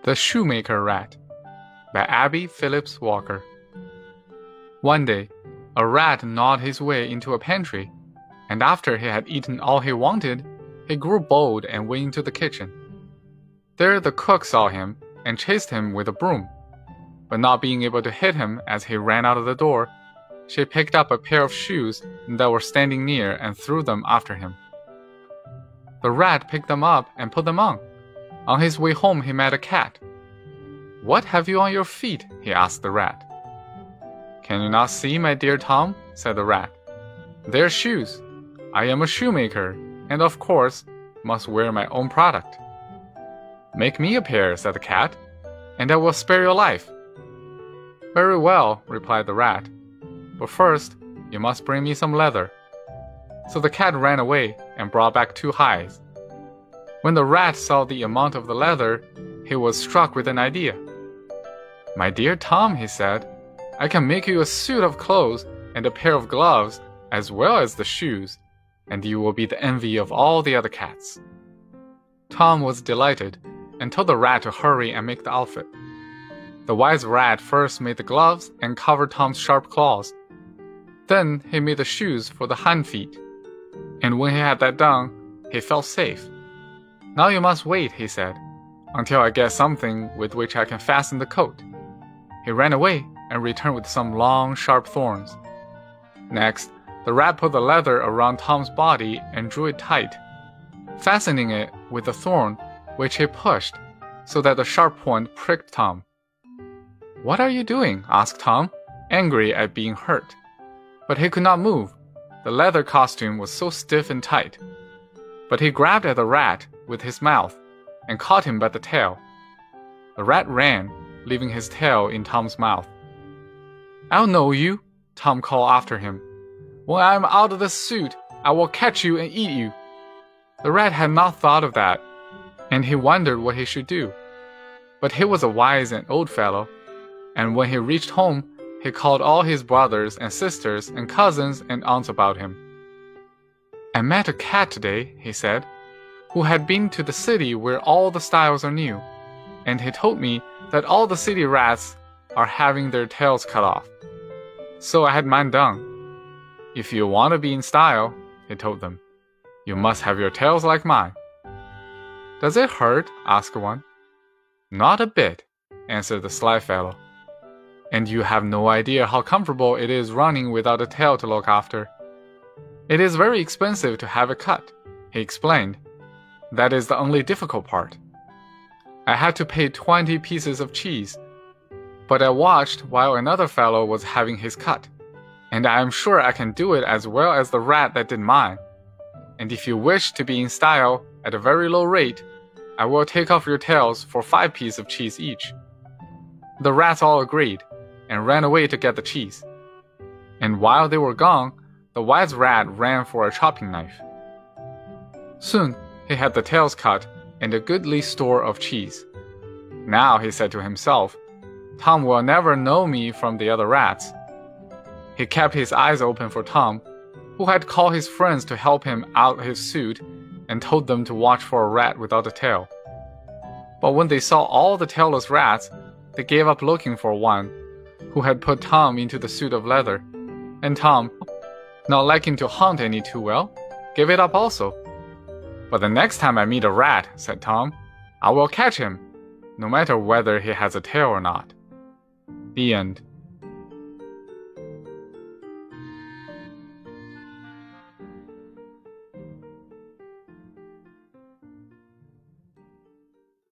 The Shoemaker Rat by Abby Phillips Walker. One day, a rat gnawed his way into a pantry, and after he had eaten all he wanted, he grew bold and went into the kitchen. There the cook saw him and chased him with a broom, but not being able to hit him as he ran out of the door, she picked up a pair of shoes that were standing near and threw them after him. The rat picked them up and put them on. On his way home he met a cat. "What have you on your feet?" he asked the rat. "Can you not see, my dear Tom?" said the rat. "They're shoes. I am a shoemaker, and of course, must wear my own product." "Make me a pair," said the cat, "and I will spare your life." "Very well," replied the rat, "but first, you must bring me some leather." So the cat ran away and brought back 2 hides. When the rat saw the amount of the leather, he was struck with an idea. "My dear Tom," he said, "I can make you a suit of clothes and a pair of gloves, as well as the shoes, and you will be the envy of all the other cats." Tom was delighted and told the rat to hurry and make the outfit. The wise rat first made the gloves and covered Tom's sharp claws. Then he made the shoes for the hind feet, and when he had that done, he felt safe. "Now you must wait," he said, "until I get something with which I can fasten the coat." He ran away and returned with some long, sharp thorns. Next, the rat put the leather around Tom's body and drew it tight, fastening it with a thorn, which he pushed, so that the sharp point pricked Tom. "What are you doing?" asked Tom, angry at being hurt. But he could not move. The leather costume was so stiff and tight. But he grabbed at the rat with his mouth and caught him by the tail. The rat ran, leaving his tail in Tom's mouth. "I'll know you," Tom called after him. "When I am out of the suit, I will catch you and eat you." The rat had not thought of that, and he wondered what he should do. But he was a wise and old fellow, and when he reached home, he called all his brothers and sisters and cousins and aunts about him. "I met a cat today," he said, "who had been to the city where all the styles are new, and he told me that all the city rats are having their tails cut off. So I had mine done. If you want to be in style," he told them, "you must have your tails like mine." "Does it hurt?" asked one. "Not a bit," answered the sly fellow. "And you have no idea how comfortable it is running without a tail to look after. It is very expensive to have it cut," he explained. "That is the only difficult part. I had to pay 20 pieces of cheese, but I watched while another fellow was having his cut, and I am sure I can do it as well as the rat that did mine. And if you wish to be in style at a very low rate, I will take off your tails for 5 pieces of cheese each." The rats all agreed and ran away to get the cheese. And while they were gone, the wise rat ran for a chopping knife. Soon he had the tails cut and a goodly store of cheese. "Now," he said to himself, "Tom will never know me from the other rats." He kept his eyes open for Tom, who had called his friends to help him out his suit and told them to watch for a rat without a tail. But when they saw all the tailless rats, they gave up looking for one who had put Tom into the suit of leather, and Tom, not liking to hunt any too well, gave it up also. "But the next time I meet a rat," said Tom, "I will catch him, no matter whether he has a tail or not." The end.